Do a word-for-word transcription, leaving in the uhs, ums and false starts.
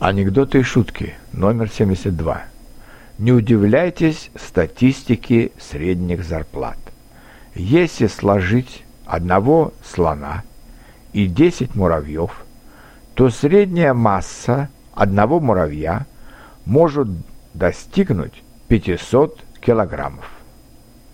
Анекдоты и шутки номер семьдесят два. Не удивляйтесь статистике средних зарплат. Если сложить одного слона и десять муравьев, то средняя масса одного муравья может достигнуть пятисот килограммов.